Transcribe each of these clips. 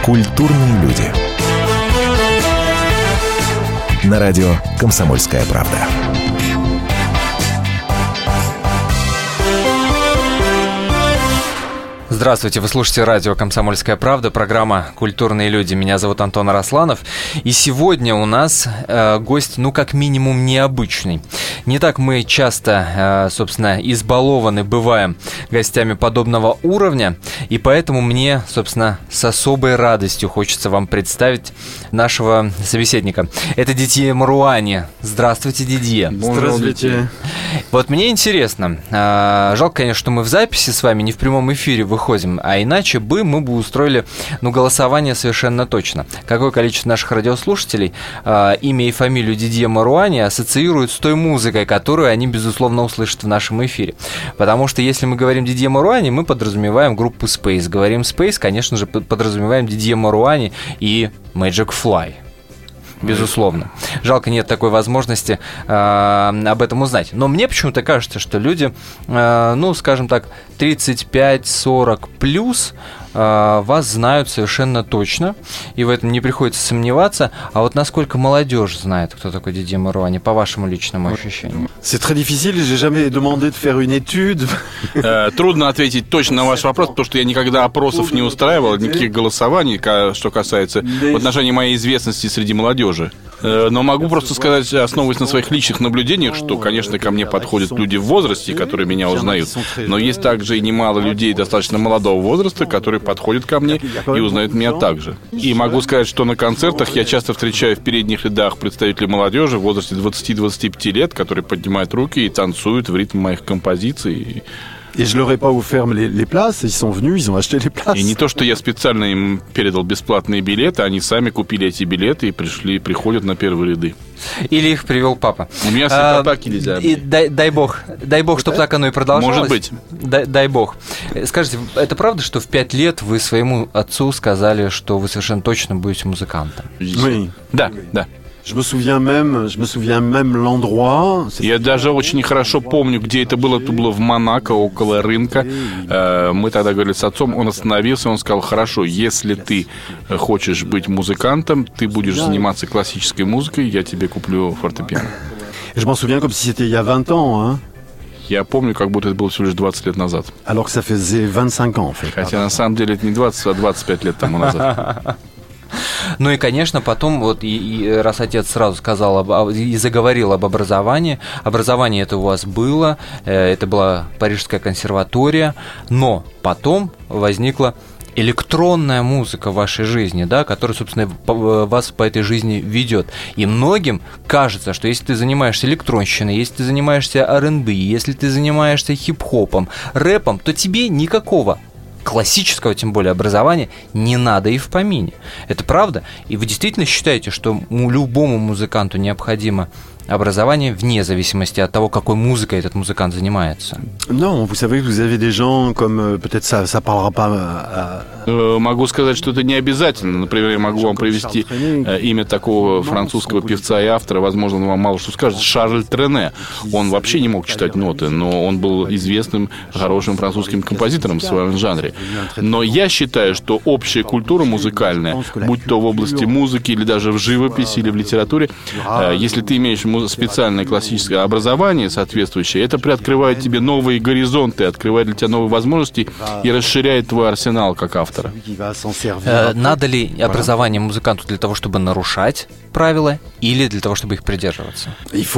Культурные люди. На радио «Комсомольская правда». Здравствуйте, вы слушаете радио «Комсомольская правда», программа «Культурные люди». Меня зовут Антон Арасланов. И сегодня у нас гость, как минимум, необычный. Не так мы часто, собственно, избалованы бываем гостями подобного уровня. И поэтому мне, собственно, с особой радостью хочется вам представить нашего собеседника. Это Дидье Маруани. Здравствуйте, Дидье. Здравствуйте. Вот мне интересно. Жалко, конечно, что мы в записи с вами, не в прямом эфире выходим. А иначе мы бы устроили голосование совершенно точно. Какое количество наших радиослушателей имя и фамилию Дидье Маруани ассоциируют с той музыкой, которую они, безусловно, услышат в нашем эфире. Потому что если мы говорим Дидье Маруани, мы подразумеваем группу Space. Говорим Space, конечно же, подразумеваем Дидье Маруани и Magic Fly. Безусловно. Жалко, нет такой возможности об этом узнать. Но мне почему-то кажется, что люди, скажем так, 35-40 плюс вас знают совершенно точно, и в этом не приходится сомневаться. А вот насколько молодежь знает, кто такой Дидье Маруани, по вашему личному ощущению? C'est très difficile, j'ai jamais demandé de faire une étude. Трудно ответить точно на ваш вопрос, потому что я никогда опросов не устраивал, никаких голосований, что касается в отношении моей известности среди молодежи. Но могу просто сказать, основываясь на своих личных наблюдениях, что, конечно, ко мне подходят люди в возрасте, которые меня узнают, но есть также и немало людей достаточно молодого возраста, которые подходят ко мне и узнают меня также. И могу сказать, что на концертах я часто встречаю в передних рядах представителей молодежи в возрасте 20-25 лет, которые поднимают руки и танцуют в ритм моих композиций. Et je leur ai pas offert les places, ils sont venus, ils ont acheté les places. И не то, что я специально им передал бесплатные билеты, они сами купили эти билеты и приходят на первые ряды. Или их привел папа. У меня всегда так нельзя. И дай бог, чтобы так оно и продолжалось. Может быть. Дай бог. Скажите, это правда, что в 5 лет вы своему отцу сказали, что вы совершенно точно будете музыкантом? Oui. Да. Je me souviens même l'endroit. Я даже очень хорошо помню, где это было. Это было в Монако, около рынка. Мы тогда говорили с отцом, он остановился, он сказал: хорошо, если ты хочешь быть музыкантом, ты будешь заниматься классической музыкой, я тебе куплю фортепиано. Je m'en souviens comme si c'était il y a 20 ans, hein. Я помню, как будто это было всего лишь 20 лет назад. Alors que ça faisait 25 ans, en fait. Хотя на самом деле это не 20, а 25 лет тому назад. Ну и, конечно, потом, раз отец сразу сказал и заговорил об образовании, образование это у вас было, это была Парижская консерватория, но потом возникла электронная музыка в вашей жизни, да, которая, собственно, вас по этой жизни ведет. И многим кажется, что если ты занимаешься электронщиной, если ты занимаешься R&B, если ты занимаешься хип-хопом, рэпом, то тебе никакого классического, тем более, образования не надо и в помине. Это правда? И вы действительно считаете, что любому музыканту необходимо образование вне зависимости от того, какой музыкой этот музыкант занимается? Non, vous savez, vous avez des gens comme peut-être ça parlera pas. Могу сказать, что это не обязательно. Например, я могу вам привести имя такого французского певца и автора, возможно, он вам мало что скажет, Шарль Трене. Он вообще не мог читать ноты, но он был известным, хорошим французским композитором в своем жанре. Но я считаю, что общая культура музыкальная, будь то в области музыки или даже в живописи или в литературе, если ты имеешь специальное классическое образование соответствующее, это приоткрывает тебе новые горизонты, открывает для тебя новые возможности и расширяет твой арсенал как автора. Надо ли образование музыканту для того, чтобы нарушать правила, или для того, чтобы их придерживаться?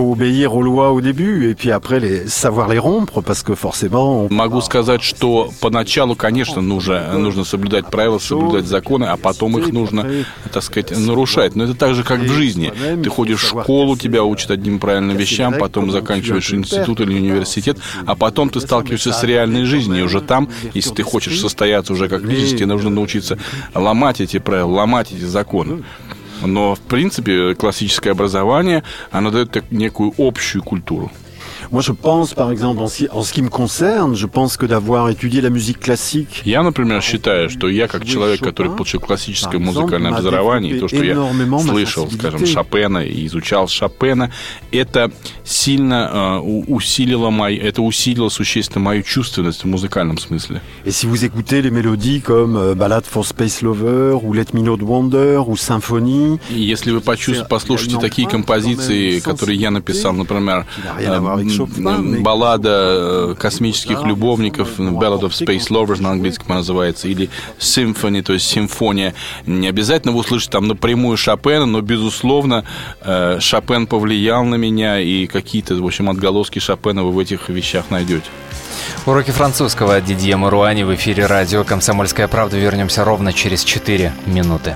Могу сказать, что поначалу, конечно, нужно соблюдать правила, соблюдать законы, а потом их нужно, так сказать, нарушать. Но это так же, как в жизни. Ты ходишь в школу, тебя учат одним правильным вещам, потом заканчиваешь институт или университет, а потом ты сталкиваешься с реальной жизнью. И уже там, если ты хочешь состояться уже как личность, тебе нужно научиться ломать эти правила, ломать эти законы. Но, в принципе, классическое образование, оно дает некую общую культуру. Moi, je pense, par exemple, en ce qui me concerne, je pense que d'avoir étudié la musique classique... Я, например, считаю, что я, как человек, который получил классическое музыкальное образование, и то, что я слышал, скажем, Шопена и изучал Шопена, это сильно усилило существенно мою чувственность в музыкальном смысле. Et si vous écoutez les mélodies comme Ballad for Space Lover, ou Let Me Know Wonder, ou Symphonie... Если вы послушаете такие композиции, которые я написал, например, баллада космических любовников, Ballad of Space Lovers на английском она называется, или Symphony, то есть симфония, не обязательно вы услышите там напрямую Шопена, но, безусловно, Шопен повлиял на меня, и какие-то, в общем, отголоски Шопена вы в этих вещах найдете. Уроки французского от Дидье Маруани в эфире радио «Комсомольская правда». Вернемся ровно через 4 минуты.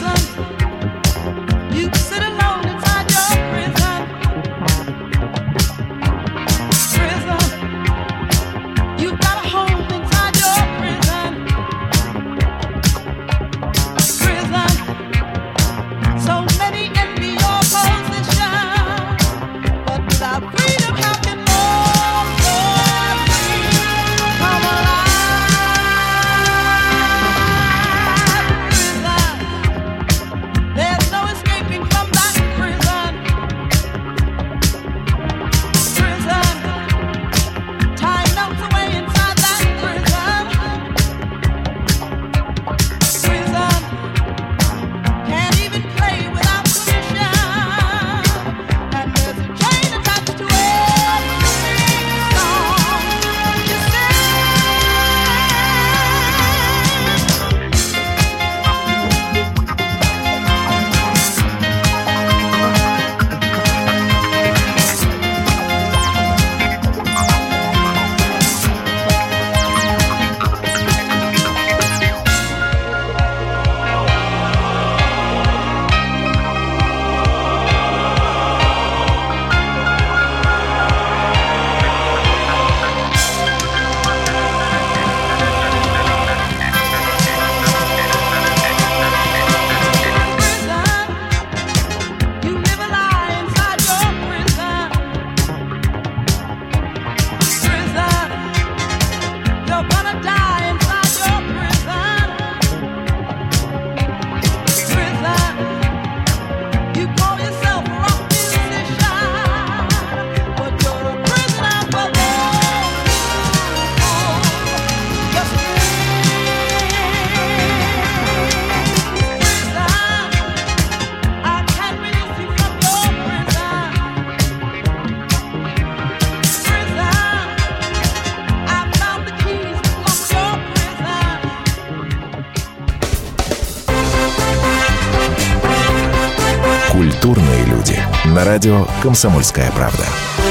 Культурные люди. На радио «Комсомольская правда».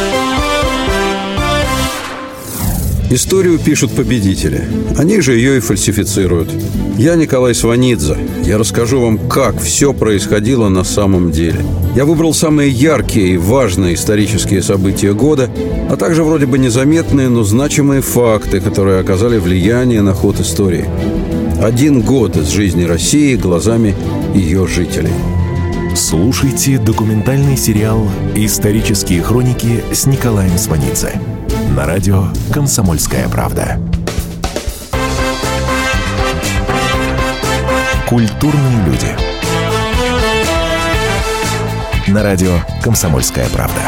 Историю пишут победители. Они же ее и фальсифицируют. Я Николай Сванидзе. Я расскажу вам, как все происходило на самом деле. Я выбрал самые яркие и важные исторические события года, а также вроде бы незаметные, но значимые факты, которые оказали влияние на ход истории. 1 год из жизни России глазами ее жителей. Слушайте документальный сериал «Исторические хроники» с Николаем Сванидзе на радио «Комсомольская правда». Культурные люди. На радио «Комсомольская правда».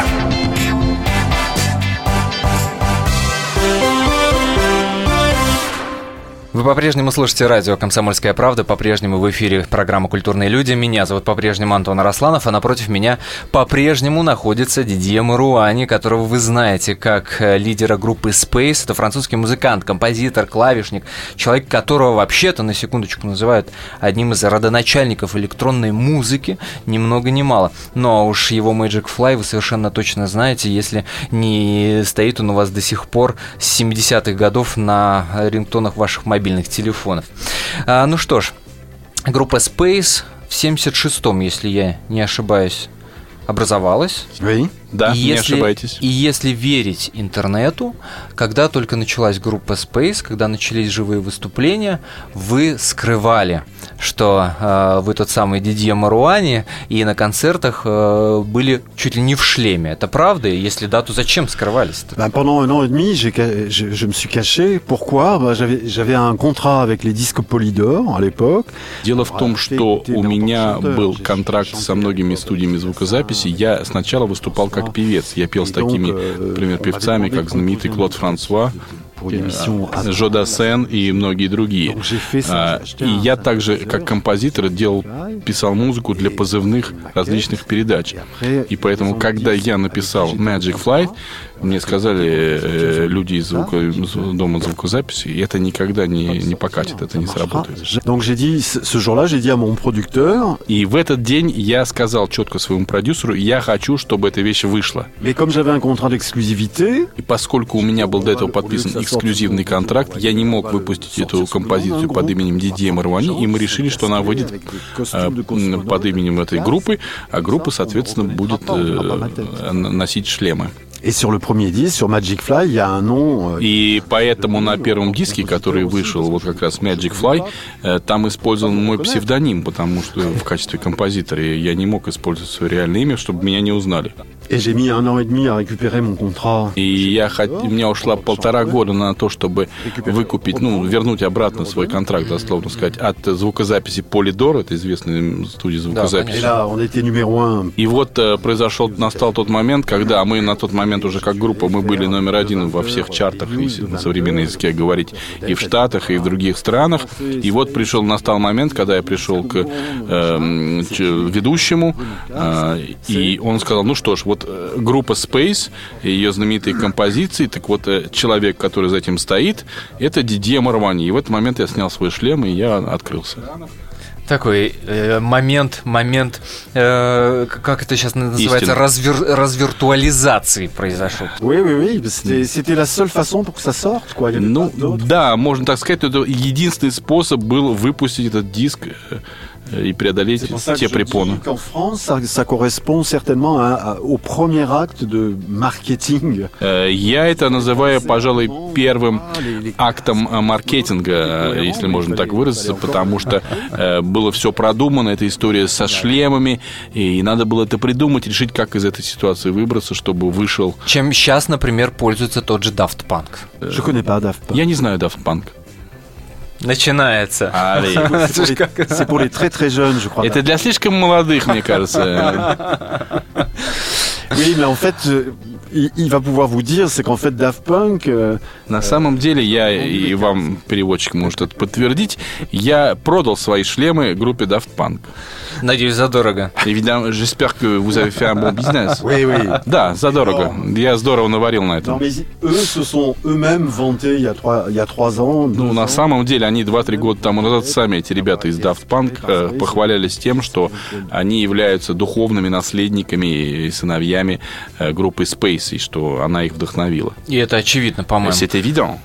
Вы по-прежнему слушаете радио «Комсомольская правда», по-прежнему в эфире программа «Культурные люди». Меня зовут по-прежнему Антон Арасланов, а напротив меня по-прежнему находится Дидье Маруани, которого вы знаете как лидера группы Space. Это французский музыкант, композитор, клавишник, человек, которого вообще-то, на секундочку, называют одним из родоначальников электронной музыки, ни много ни мало. Но уж его Magic Fly вы совершенно точно знаете, если не стоит он у вас до сих пор с 70-х годов на рингтонах ваших мобильных телефонов. Ну что ж, группа Space в 76-м, если я не ошибаюсь, образовалась. Oui. Да, не ошибаетесь. И если верить интернету, когда только началась группа Space, когда начались живые выступления, вы скрывали, что вы тот самый Дидье Маруани, и на концертах были чуть ли не в шлеме. Это правда? И если да, то зачем скрывались-то? Pendant 1 an et demi, je me suis caché. Pourquoi? J'avais un contrat avec les disques Polydor à l'époque. Дело в том, что у меня был контракт со многими студиями звукозаписи. Я сначала выступал как певец. Я пел с такими, например, певцами, как знаменитый Клод Франсуа, Жо Дассен и многие другие. И я также, как композитор, писал музыку для позывных различных передач. И поэтому, когда я написал Magic Flight, мне сказали люди из дома звукозаписи, и это никогда не покатит, это не сработает. И в этот день я сказал четко своему продюсеру, я хочу, чтобы эта вещь вышла. И поскольку у меня был до этого подписан эксклюзивный контракт, я не мог выпустить эту композицию под именем Дидье Маруани, и мы решили, что она выйдет под именем этой группы, а группа, соответственно, будет носить шлемы. Et sur le premier disque, sur Magic Fly, il y a un nom. И поэтому на первом диске, который вышел, вот как раз Magic Fly, там использован мой псевдоним, потому что в качестве композитора я не мог использовать свое реальное имя, чтобы меня не узнали. Et j'ai mis 1 an et demi à récupérer mon contrat. И у меня ушло 1,5 года на то, чтобы выкупить, вернуть обратно свой контракт, дословно сказать, от звукозаписи Polydor, это известная студия звукозаписи. Да, on était numéro 1. И вот настал тот момент, когда мы на тот момент уже как группа, мы были номер 1 во всех чартах, если на современном языке говорить, и в Штатах, и в других странах. И вот настал момент, когда я пришел к ведущему, и он сказал, ну что ж, вот группа Space, ее знаменитые композиции, так вот человек, который за этим стоит, это Дидье Маруани. И в этот момент я снял свой шлем, и я открылся. Такой момент, как это сейчас называется, развиртуализации произошел. Oui, c'était la seule façon pour que ça sorte, quoi. Да, можно так сказать, это единственный способ был выпустить этот диск и преодолеть те препоны. En France, ça correspond certainement au premier acte de marketing. Я это называю, пожалуй, первым актом маркетинга, если можно так выразиться, потому что было все продумано, эта история со шлемами, и надо было это придумать, решить, как из этой ситуации выбраться, чтобы вышел. Чем сейчас, например, пользуется тот же Daft Punk. Je connais pas Daft Punk. Я не знаю Daft Punk. Начинается. C'est pour les très jeunes, je crois. Это для слишком молодых, мне кажется. Oui, mais en fait, il va pouvoir vous dire, c'est qu'en fait Daft Punk... На самом деле, и вам, переводчик, может это подтвердить, я продал свои шлемы группе Daft Punk. Надеюсь, задорого. Évidemment, j'espère que vous avez fait un bon business. Oui. Да, задорого. Я здорово наварил на этом. Non, mais eux se sont eux-mêmes vantés il y a 3 ans. На самом деле, они 2-3 года тому назад сами, эти ребята из Daft Punk, похвалялись тем, что они являются духовными наследниками и сыновьями группы Space, и что она их вдохновила. И это очевидно, по-моему. C'est évident.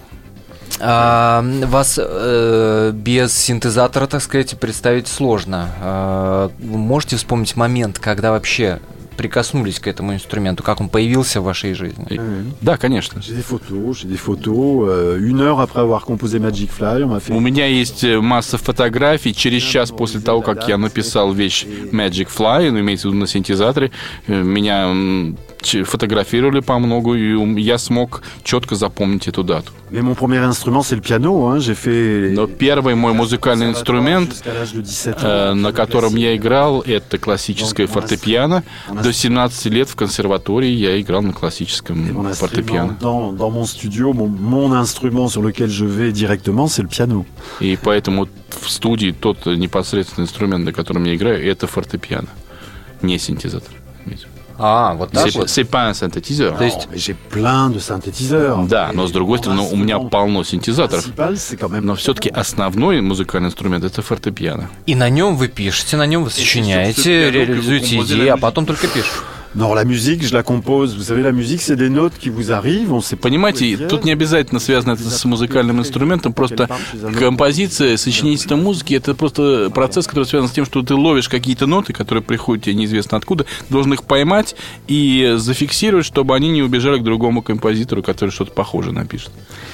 Вас без синтезатора, так сказать, представить сложно. Вы можете вспомнить момент, когда вообще прикоснулись к этому инструменту, как он появился в вашей жизни? Да, конечно. J'ai des photos. 1 heure après avoir composé Magic Fly, on m'a fait... У меня есть масса фотографий. Через час после того, как я написал вещь Magic Fly, имеется в виду на синтезаторе, меня фотографировали по многу, и я смог четко запомнить эту дату. Mais mon premier instrument, c'est le piano. J'ai fait... Но первый мой музыкальный инструмент, на котором я играл, это классическое фортепиано. До 17 лет в консерватории я играл на классическом фортепиано. Dans mon studio, mon instrument sur lequel je vais directement, c'est le piano. И поэтому в студии тот непосредственный инструмент, на котором я играю, это фортепиано, не синтезатор. Вот так вот. C'est pas un synthétiseur. То есть j'ai plein de synthétiseurs. Да, но с другой стороны, у меня полно синтезаторов. Но все-таки основной музыкальный инструмент — это фортепиано. И на нем вы пишете, на нем вы сочиняете, реализуете идеи, а потом только пишете. Non, la musique, je la compose. Vous savez, la musique, c'est des notes qui vous arrivent. On sait pas. Понимаете, тут не обязательно связано это с музыкальным инструментом, просто композиция, сочинительство музыки — это просто процесс, который связан с тем, что ты ловишь какие-то ноты, которые приходят тебе неизвестно откуда, должен их поймать и зафиксировать, чтобы они не убежали к другому композитору, который что-то похожее напишет.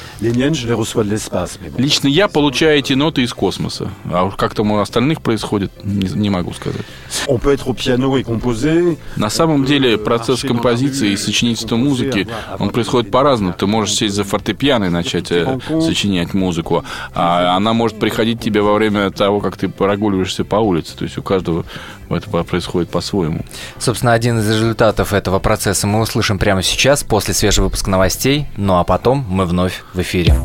Лично я получаю эти ноты из космоса. А уж как там у остальных происходит, не могу сказать. На самом деле процесс композиции и сочинительства музыки, он происходит по-разному. Ты можешь сесть за фортепиано и начать сочинять музыку, а она может приходить тебе во время того, как ты прогуливаешься по улице. То есть у каждого это происходит по-своему. Собственно, один из результатов этого процесса мы услышим прямо сейчас, после свежего выпуска новостей. Ну а потом мы вновь в эфире.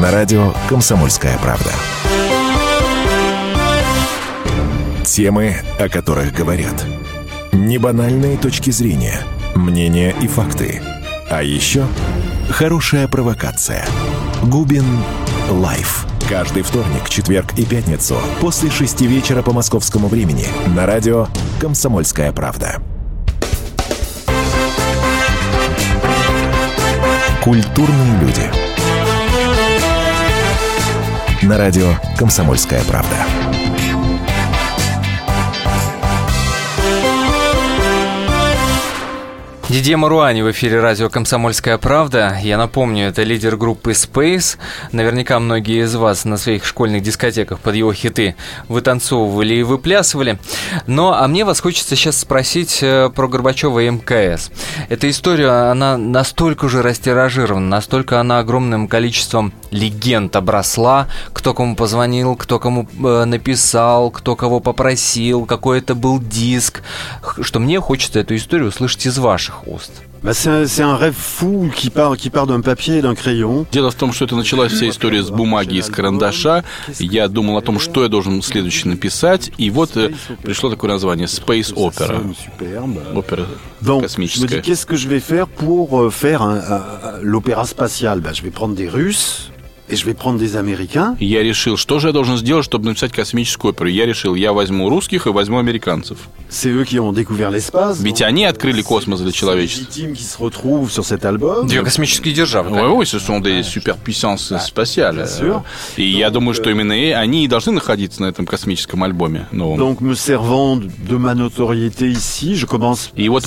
На радио «Комсомольская правда». Темы, о которых говорят. Небанальные точки зрения, мнения и факты. А еще хорошая провокация. Губин Лайф. Каждый вторник, четверг и пятницу после 6 вечера по московскому времени на радио «Комсомольская правда». Культурные люди. На радио «Комсомольская правда». Дидье Маруани в эфире радио «Комсомольская правда». Я напомню, это лидер группы Space. Наверняка многие из вас на своих школьных дискотеках под его хиты вытанцовывали и выплясывали. А мне вас хочется сейчас спросить про Горбачева и МКС. Эта история, она настолько уже растиражирована, настолько она огромным количеством легенд обросла. Кто кому позвонил, кто кому написал, кто кого попросил, какой это был диск, что мне хочется эту историю услышать из ваших уст. C'est un rêve fou qui part d'un papier et d'un crayon. Дело в том, что это началась вся история с бумаги и с карандаша. Я думал о том, что я должен следующее написать, и вот пришло такое название Space Opera. Опера космическая. Je me dis, qu'est-ce que je vais faire pour faire l'opéra spatial? Je vais prendre des Russes. Et je vais prendre des Américains. Я решил, что же я должен сделать, чтобы написать космическую оперу. Я решил, я возьму русских и возьму американцев. C'est eux qui ont découvert l'espace. Ведь они открыли космос для человечества. Qui se retrouvent sur cet album. Две космические державы. Oui, ce sont des superpuissances spatiales. И я думаю, что именно они и должны находиться на этом космическом альбоме новом. Donc, me servant de ma notoriété ici, je commence. И вот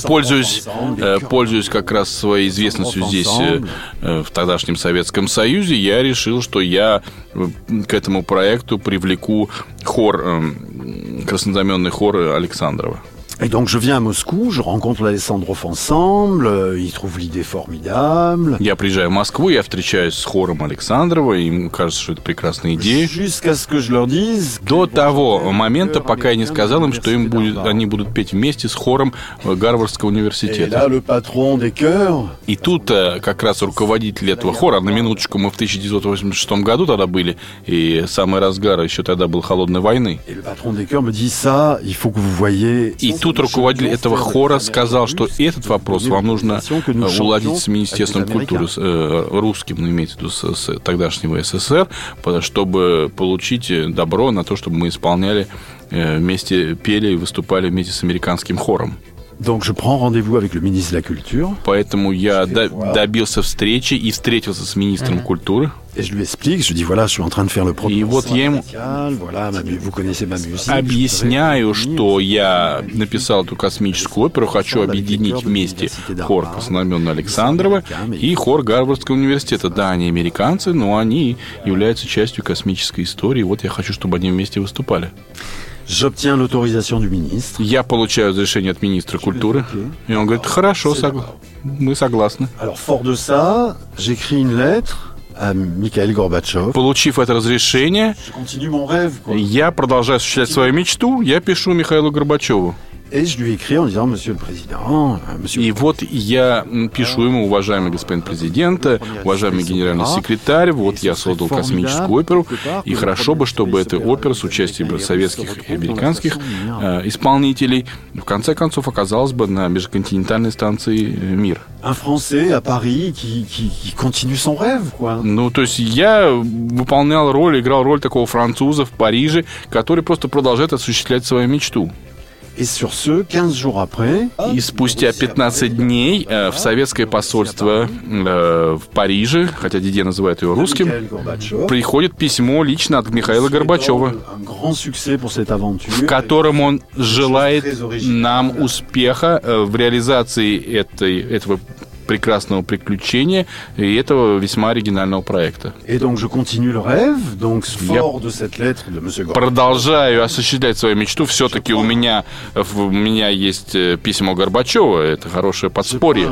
пользуясь как раз своей известностью здесь, в тогдашнем Советском Союзе, я решил, что я к этому проекту привлеку хор, краснознаменный хор Александрова. Et donc je viens à Moscou, je rencontre l'Alessandrov ensemble, ils trouvent l'idée formidable. Я приезжаю в Москву, я встречаюсь с хором Александрова, и им кажется, что это прекрасная идея. Jusqu'à ce que je leur dise. До того момента, пока я не сказал им, что они будут петь вместе с хором Гарвардского университета. Et là, le patron des chœurs. И тут как раз руководитель этого хора, на минуточку, мы в 1986 году тогда были, и самый разгар еще тогда был холодной войны. Et le patron des chœurs me dit ça, il faut que vous voyez. И тут руководитель этого хора сказал, что этот вопрос вам нужно уладить с Министерством культуры, русским, имеется в виду с тогдашнего СССР, чтобы получить добро на то, чтобы мы исполняли вместе, пели и выступали вместе с американским хором. Donc je prends rendez-vous avec le ministre de la Culture. Поэтому я добился встречи и встретился с министром культуры. Et je lui explique, je dis voilà, je suis en train de faire le И вот я ему объясняю, что я написал эту космическую оперу, хочу объединить вместе хор краснознаменного Александрова и хор Гарвардского университета. Да, они американцы, но они являются частью космической истории. Вот я хочу, чтобы они вместе выступали. J'obtiens l'autorisation du ministre. Я получаю разрешение от министра культуры, и он говорит, хорошо, мы согласны. Alors, fort de ça, j'écris une lettre à Mikhail Gorbatchev. Получив это разрешение, Je continue mon rêve, quoi. я продолжаю осуществлять свою мечту, я пишу Михаилу Горбачеву. Et je lui écris en disant, Monsieur le Président, Monsieur... И вот я пишу ему, уважаемый господин президент, уважаемый генеральный секретарь, вот я создал космическую оперу, и хорошо бы, чтобы эта опера с участием советских и американских исполнителей в конце концов оказалась бы на межконтинентальной станции «Мир». Un Français à Paris qui continue son rêve, quoi. Ну, то есть я выполнял роль, играл роль такого француза в Париже, который просто продолжает осуществлять свою мечту. Et sur ce, 15 jours après... И спустя 15 дней в советское посольство в Париже, хотя Дидье называет его русским, приходит письмо лично от Михаила Горбачева, в котором он желает нам успеха в реализации этого прекрасного приключения и этого весьма оригинального проекта. Я продолжаю осуществлять свою мечту. Все-таки у меня есть письмо Горбачева. Это хорошее подспорье.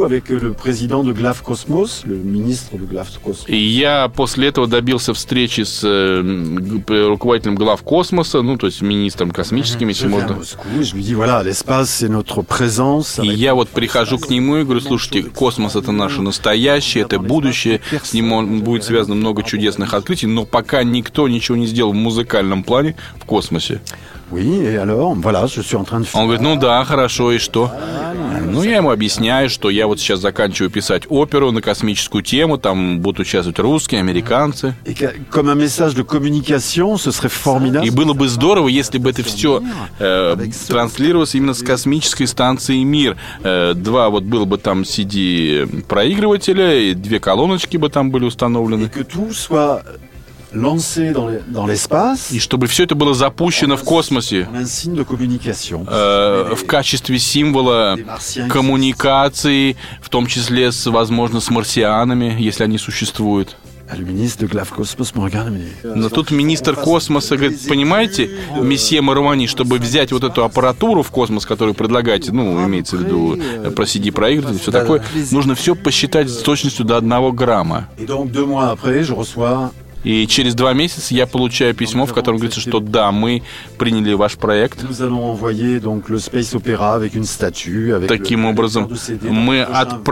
И я после этого добился встречи с руководителем главкосмоса, ну, то есть министром космическим, если можно. И я вот прихожу к нему и говорю, слушайте, Слушайте, космос — это наше настоящее, это будущее, с ним будет связано много чудесных открытий, но пока никто ничего не сделал в музыкальном плане в космосе. Oui, et alors, voilà, je suis en train de Он говорит, ну да, хорошо, и что? Ну, я ему объясняю, что я вот сейчас заканчиваю писать оперу на космическую тему, там будут участвовать русские, американцы. Et comme un message de communication, ce serait formidable. И было бы здорово, если бы это все транслировалось именно с космической станции «Мир». Два вот было бы там CD-проигрывателя, и 2 колоночки бы там были установлены. Et que tout soit lancé dans l'espace. И чтобы все это было запущено в космосе Un signe de communication. в качестве символа коммуникации, в том числе, возможно, с марсианами, если они существуют. Le ministre de Glavkosmos me regarde et me dit... Но тут министр космоса говорит, понимаете, месье Маруани, чтобы взять вот эту аппаратуру в космос, которую предлагаете, ну, имеется в виду про CD-проигрыватель, все такое, нужно все посчитать с точностью до 1 грамма. Et donc 2 mois après, je reçois... И через 2 месяца я получаю письмо, в котором говорится, что да, мы приняли ваш проект. Nous allons envoyer donc le Space Opera avec une statue, avec Таким образом, мы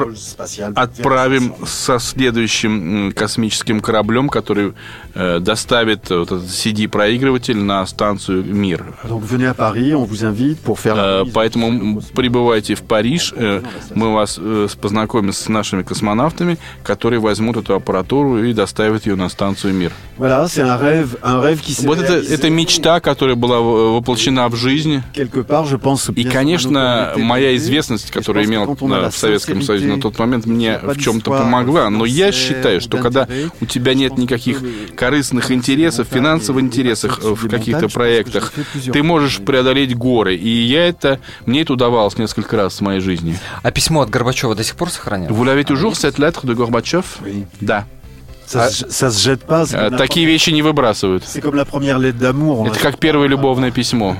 отправим со следующим космическим кораблем, который доставит вот этот CD-проигрыватель на станцию «Мир». Donc venez à Paris, on vous invite pour faire... Поэтому прибывайте в Париж, мы вас познакомим с нашими космонавтами, которые возьмут эту аппаратуру и доставят ее на станцию «Мир». Voilà, c'est un rêve qui s'est Вот это мечта, которая была воплощена в жизнь. quelque part, je pense. И, конечно, моя известность, которую я имел в Советском Союзе на тот момент, мне в чем-то помогла. Но я считаю, что когда у тебя нет никаких корыстных интересов, финансовых интересов в каких-то проектах, ты можешь преодолеть горы. И мне это удавалось несколько раз в моей жизни. А письмо от Горбачева до сих пор сохранилось? Vous l'avez toujours, cette lettre de Gorbatchev? Да. Ça se jette pas. Такие вещи не выбрасывают. C'est comme la première lettre d'amour. Это как первое любовное письмо.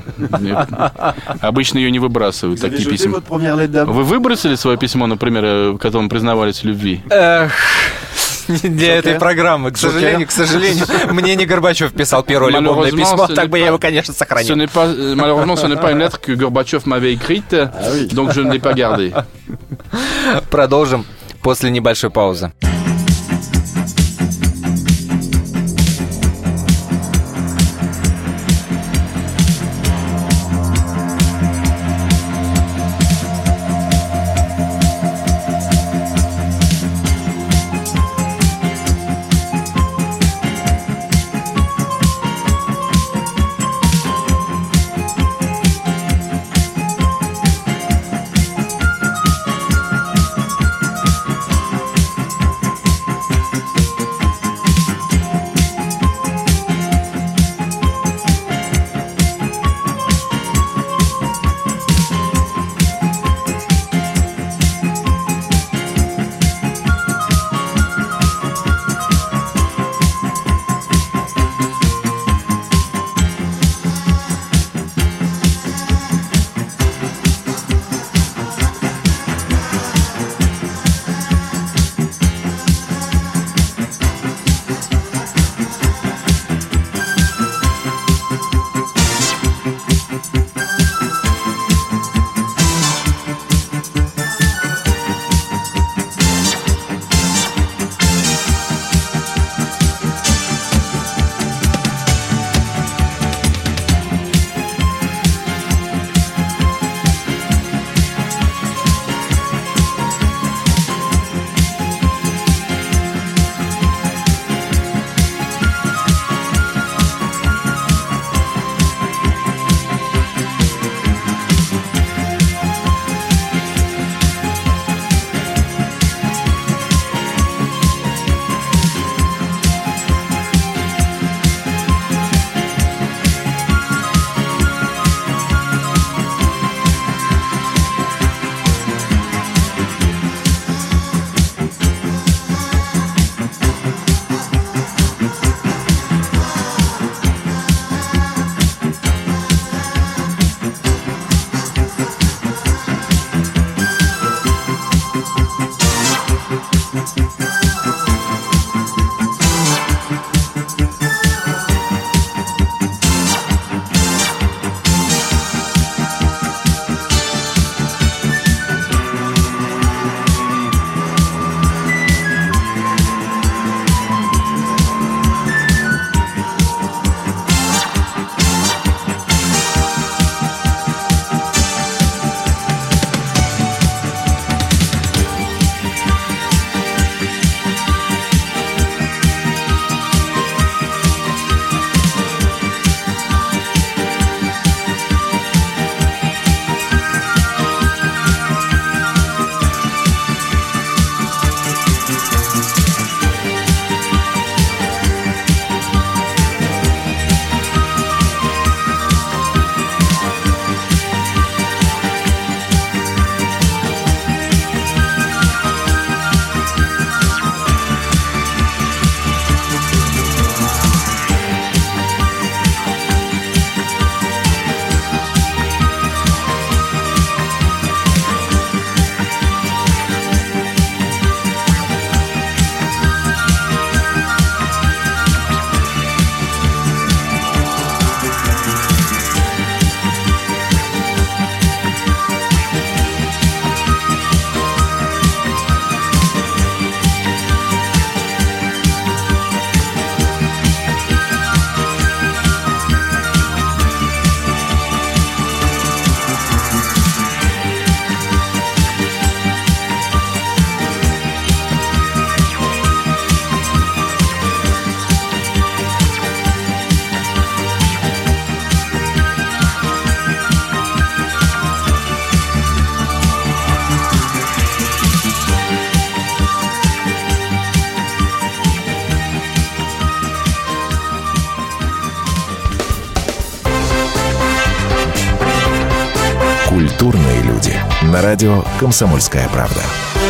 Обычно ее не выбрасывают, такие письма. Вы выбросили свое письмо, например, в котором признавались в любви? Для этой программы, к сожалению, мне не Горбачев писал первое любовное письмо, так бы я его, конечно, сохранил. Malheureusement, ce n'est pas une lettre que Gorbatchev m'avait écrite, donc je ne l'ai pas gardée. Продолжим после небольшой паузы. Культурные люди. На радио «Комсомольская правда».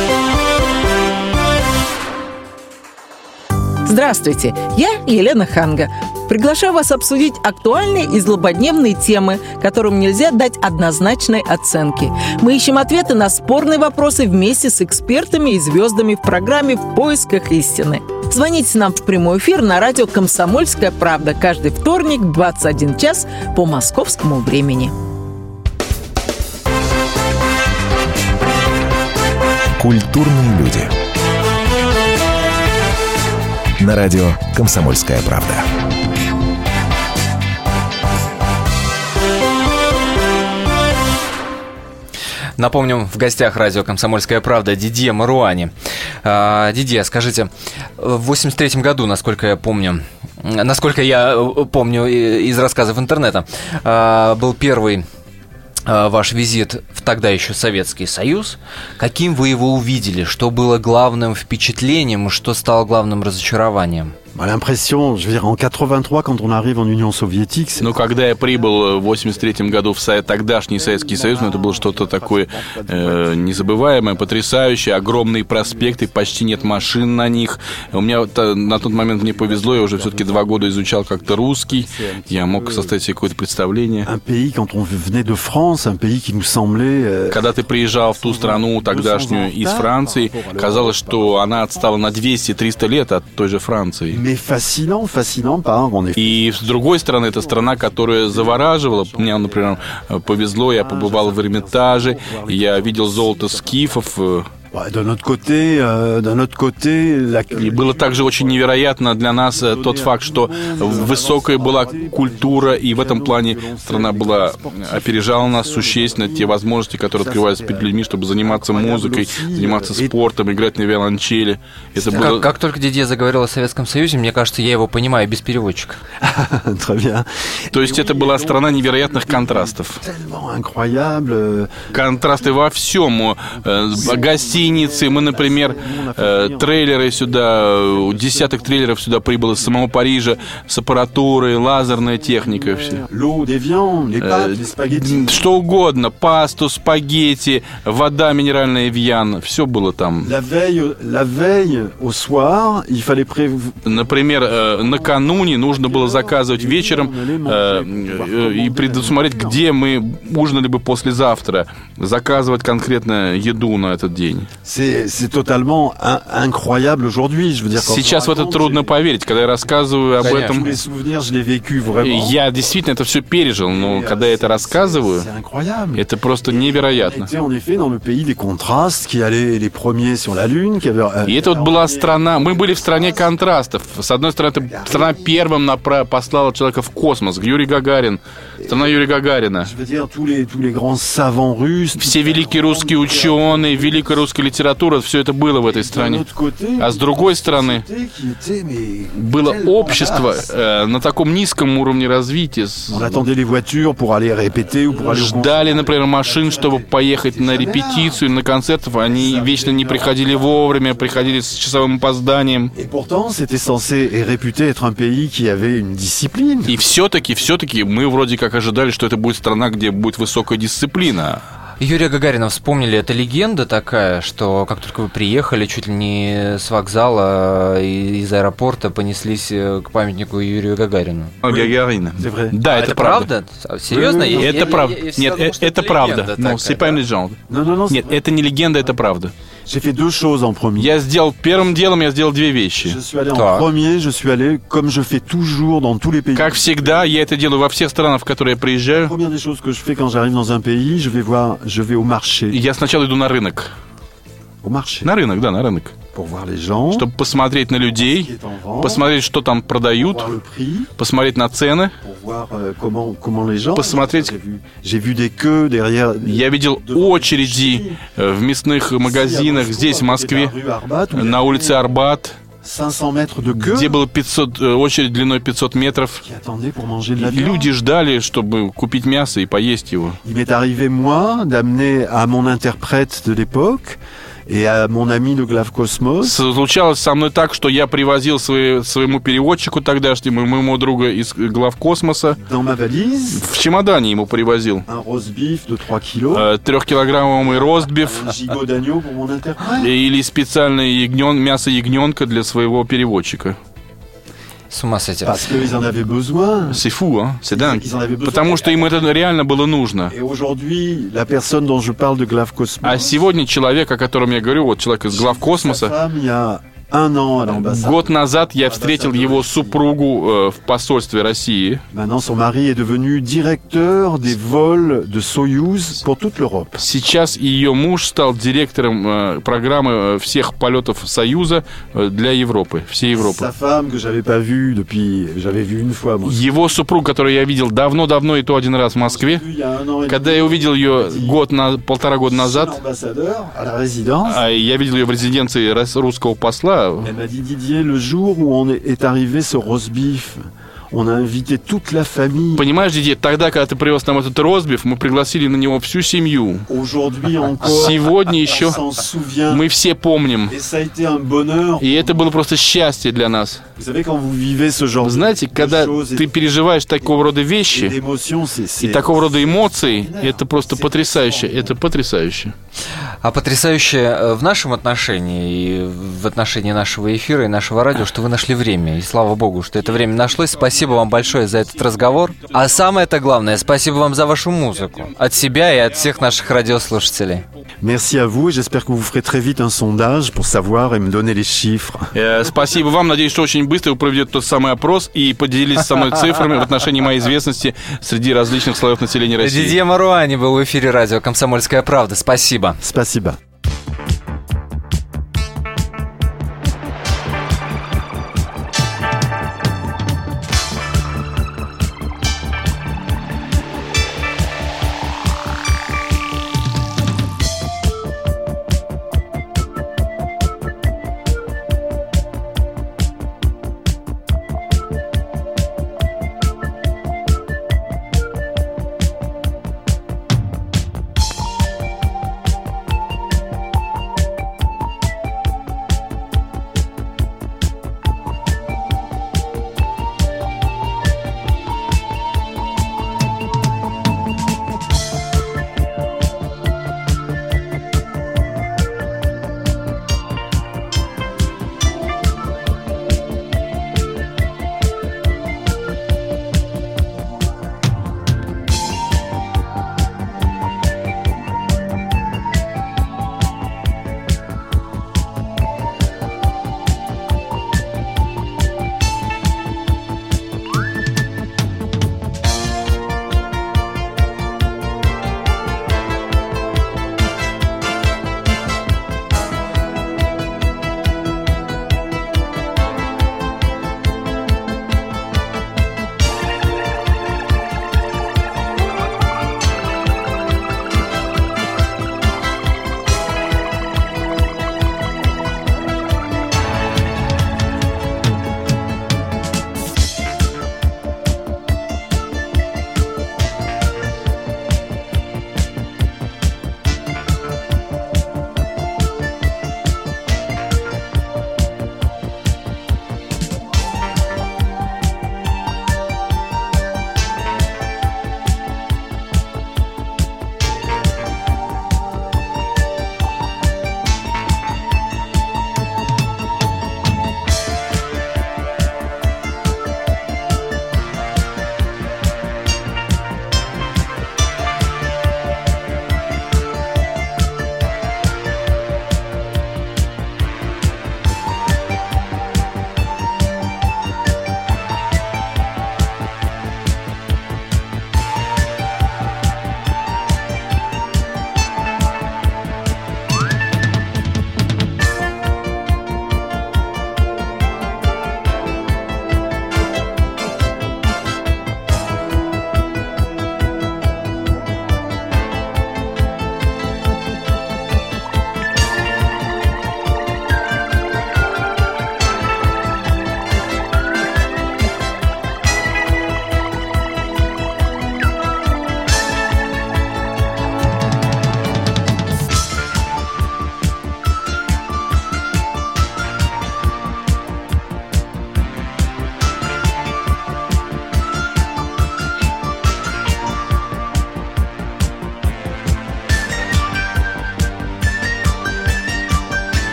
Здравствуйте, я Елена Ханга. Приглашаю вас обсудить актуальные и злободневные темы, которым нельзя дать однозначной оценки. Мы ищем ответы на спорные вопросы вместе с экспертами и звездами в программе «В поисках истины». Звоните нам в прямой эфир на радио «Комсомольская правда» каждый вторник в 21 час по московскому времени. Культурные люди. На радио «Комсомольская правда». Напомним, в гостях радио «Комсомольская правда» Дидье Маруани. Дидье, скажите, в 1983 году, насколько я помню из рассказов интернета, был первый ваш визит в тогда еще Советский Союз. Каким вы его увидели? Что было главным впечатлением и что стало главным разочарованием? L'impression, je veux dire, en 83, quand on arrive en Union soviétique... Ну, когда я прибыл в 83 году в тогдашний Советский Союз, это было что-то такое незабываемое, потрясающее, огромные проспекты, почти нет машин на них. У меня на тот момент мне повезло, я уже все-таки 2 года изучал как-то русский, я мог составить себе какое-то представление. Когда ты приезжал в ту страну тогдашнюю из Франции, казалось, что она отстала на 200-300 лет от той же Франции. И с другой стороны, это страна, которая завораживала. Мне, например, повезло, я побывал в Эрмитаже, я видел золото скифов. И было также очень невероятно для нас тот факт, что высокая была культура, и в этом плане страна опережала нас существенно, те возможности, которые открываются перед людьми, чтобы заниматься музыкой, заниматься спортом, играть на виолончели. Это было... Как только Дидье заговорил о Советском Союзе, мне кажется, я его понимаю без переводчика. То есть это была страна невероятных контрастов. Контрасты во всем. Гостиницы, мы, например, трейлеры сюда, десяток трейлеров сюда прибыло из самого Парижа с аппаратурой, лазерная техника, все. Что угодно, пасту, спагетти, вода минеральная Эвиан, все было там. Например, накануне нужно было заказывать вечером и предусмотреть, где мы ужинали бы послезавтра, заказывать конкретно еду на этот день. C'est totalement incroyable aujourd'hui. Je veux dire, сейчас в это трудно поверить, когда я рассказываю об этом. Я действительно это все пережил, но когда я это рассказываю, это просто невероятно. И это вот была страна, мы были в стране контрастов. С одной стороны, страна первым послала человека в космос, Юрий Гагарин, страна Юрия Гагарина. Все великие русские ученые, великая русская литература, все это было в этой стране. А с другой стороны, было общество на таком низком уровне развития. Ждали, например, машин, чтобы поехать на репетицию, на концерт. Они вечно не приходили вовремя, приходили с часовым опозданием. И все-таки мы вроде как ожидали, что это будет страна, где будет высокая дисциплина. Юрия Гагарина вспомнили, это легенда такая, что как только вы приехали, чуть ли не с вокзала из аэропорта понеслись к памятнику Юрию Гагарину. Гагарина. Да, это правда. Серьезно? Это правда. Нет, это правда. Нет, это не легенда, это правда. Я сделал первым делом, я сделал 2 вещи. Как всегда, я это делаю во всех странах, в которые я приезжаю. Я сначала иду на рынок. На рынок, да, на рынок. Чтобы посмотреть на людей, посмотреть, что там продают, посмотреть на цены, посмотреть... Я видел очереди в мясных магазинах здесь, в Москве, на улице Арбат, где было очередь длиной 500 метров. Люди ждали, чтобы купить мясо и поесть его. Et à mon ami de Главкосмос, Случалось со мной так, что я привозил своему переводчику тогдашнему, моему другу из Главкосмоса, dans ma valise, в чемодане ему привозил un roast beef de 3 kilos, 3-килограммовый ростбиф un gigot d'agneau pour mon interprète. или специальное мясо ягненка для своего переводчика. С ума сойти. Parce qu'ils en avaient besoin. C'est fou, hein? C'est dingue. Ils en avaient besoin. Потому что им это реально было нужно. Et aujourd'hui, la personne dont je parle de Главкосмос, А сегодня человек, о котором я говорю, вот человек из sa Главкосмоса, femme, il y a 1 an à l'ambassade. год назад я встретил его супругу в посольстве России. Maintenant, son mari est devenu directeur des vols de Soyouz pour toute l'Europe. Сейчас ее муж стал директором программы всех полетов Союза для Европы, всей Европы. Sa femme, que j'avais pas vue depuis, j'avais vu une fois, moi. Его супруг, которую я видел давно-давно и то один раз в Москве, Il y a 1 an et когда demi, я увидел ее полтора года назад, l'ambassadeur à la résidence. а я видел ее в резиденции русского посла. Elle m'a dit, Didier, le jour où est arrivé ce roast beef, on a invité toute la famille. Понимаешь, Дидье, тогда, когда ты привез нам этот ростбиф, мы пригласили на него всю семью. Aujourd'hui encore, Сегодня еще on s'en souvient. мы все помним. Et ça a été un bonheur. И это было просто счастье для нас. Vous savez, quand vous vivez ce genre Знаете, когда de choses ты переживаешь такого рода et вещи d'émotions, и такого рода эмоций, это просто потрясающе. Это потрясающе. А потрясающе в нашем отношении и в отношении нашего эфира и нашего радио, что вы нашли время. И слава богу, что это время нашлось. Спасибо вам большое за этот разговор. А самое-то главное, спасибо вам за вашу музыку. От себя и от всех наших радиослушателей. Merci à vous et j'espère que vous ferez très vite un sondage pour savoir et me donner les chiffres. Спасибо вам. Надеюсь, что очень быстро вы проведете тот самый опрос и поделились со мной цифрами в отношении моей известности среди различных слоев населения России. Дидье Маруани был в эфире радио «Комсомольская правда». Спасибо. Спасибо.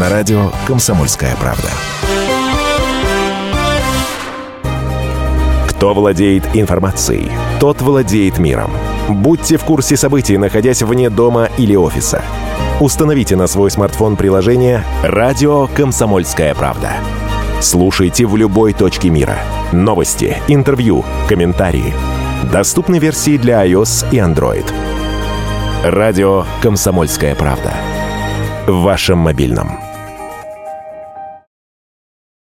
на радио «Комсомольская правда». Кто владеет информацией, тот владеет миром. Будьте в курсе событий, находясь вне дома или офиса. Установите на свой смартфон приложение «Радио Комсомольская правда». Слушайте в любой точке мира. Новости, интервью, комментарии. Доступны версии для iOS и Android. Радио «Комсомольская правда». В вашем мобильном.